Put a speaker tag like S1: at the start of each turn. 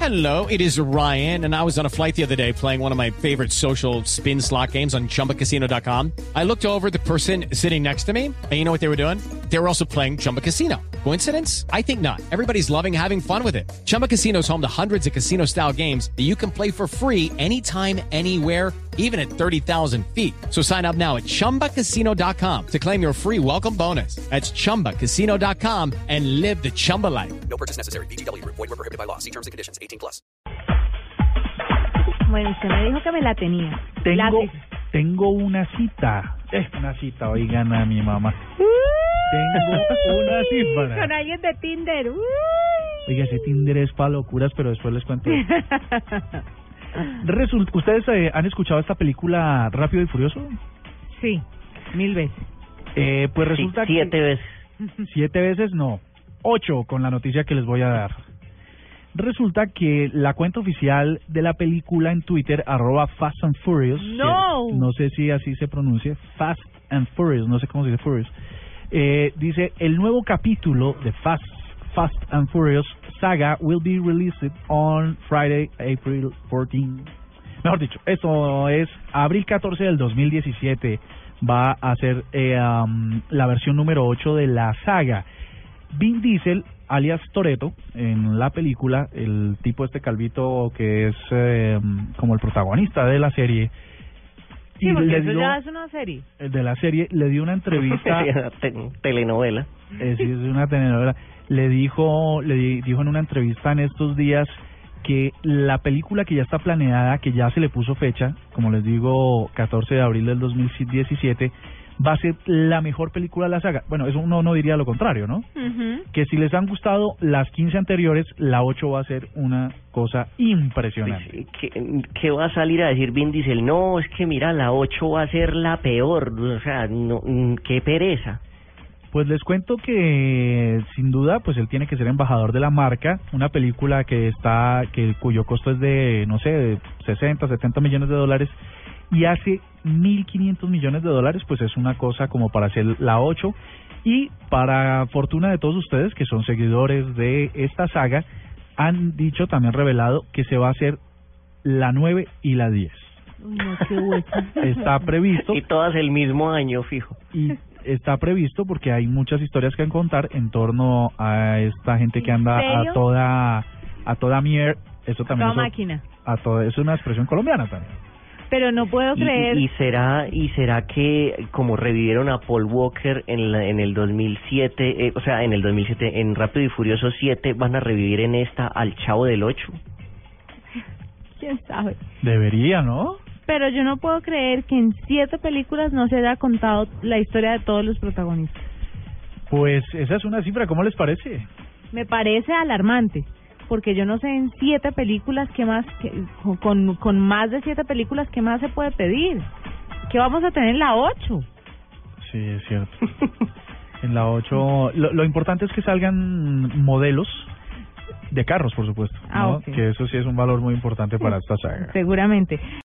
S1: Hello, it is Ryan, and I was on a flight the other day playing one of my favorite social spin slot games on ChumbaCasino.com. I looked over at the person sitting next to me, and you know what they were doing? They were also playing Chumba Casino. Coincidence? I think not. Everybody's loving having fun with it. Chumba Casino is home to hundreds of casino-style games that you can play for free anytime, anywhere, even at 30,000 feet. So sign up now at ChumbaCasino.com to claim your free welcome bonus. That's ChumbaCasino.com and live the Chumba life.
S2: No purchase necessary. VGW. Void were prohibited by law. See terms and conditions. 18+.
S3: Bueno, usted me dijo que me la tenía.
S4: Tengo una cita. Una cita, oigan a mi mamá. Tengo una cita.
S3: Con alguien de Tinder.
S4: Oiga, ese Tinder es para locuras, pero después les cuento. ¿Ustedes han escuchado esta película Rápido y Furioso?
S3: Sí, 1000 veces.
S4: Pues resulta
S5: sí, 7 veces.
S4: 7 veces no, 8 con la noticia que les voy a dar. Resulta que la cuenta oficial de la película en Twitter, @Fast and Furious, no sé si así se pronuncia, Fast and Furious, no sé cómo se dice Furious, dice: el nuevo capítulo de Fast and Furious saga will be released on Friday, April 14. Mejor dicho, esto es abril 14 del 2017. Va a ser la versión número 8 de la saga. Vin Diesel, alias Toretto, en la película, el tipo calvito que es como el protagonista de la serie.
S3: Sí, porque eso ya es una serie.
S4: De la serie, le dio una entrevista.
S5: Telenovela.
S4: Sí, es una telenovela. Le dijo en una entrevista en estos días que la película que ya está planeada, que ya se le puso fecha, como les digo, 14 de abril del 2017, va a ser la mejor película de la saga. Bueno, eso uno no diría lo contrario, ¿no? Que si les han gustado las 15 anteriores, la 8 va a ser una cosa impresionante.
S5: ¿Qué va a salir a decir Vin Diesel? No, es que mira, la 8 va a ser la peor. O sea, no, qué pereza.
S4: Pues les cuento que sin duda pues él tiene que ser embajador de la marca, una película cuyo costo es de, no sé, de 60, 70 millones de dólares y hace 1.500 millones de dólares, pues es una cosa como para hacer la 8, y para fortuna de todos ustedes que son seguidores de esta saga, han dicho, también revelado, que se va a hacer la 9 y la 10.
S3: No, qué hueco.
S4: Está previsto.
S5: Y todas el mismo año, fijo.
S4: Y está previsto porque hay muchas historias que contar en torno a esta gente que anda a toda mierda. Eso también
S3: máquina.
S4: Eso es una expresión colombiana también.
S3: Pero no puedo creer.
S5: ¿Y será que como revivieron a Paul Walker en el 2007, en Rápido y Furioso 7, van a revivir en esta al Chavo del 8?
S3: ¿Quién sabe?
S4: Debería, ¿no?
S3: Pero yo no puedo creer que en 7 películas no se haya contado la historia de todos los protagonistas.
S4: Pues esa es una cifra, ¿cómo les parece?
S3: Me parece alarmante, porque yo no sé en 7 películas qué más, con más de 7 películas, qué más se puede pedir. ¿Qué vamos a tener en la 8?
S4: Sí, es cierto. En la 8, lo importante es que salgan modelos de carros, por supuesto, ¿no?
S3: Okay.
S4: Que eso sí es un valor muy importante para esta saga.
S3: Seguramente.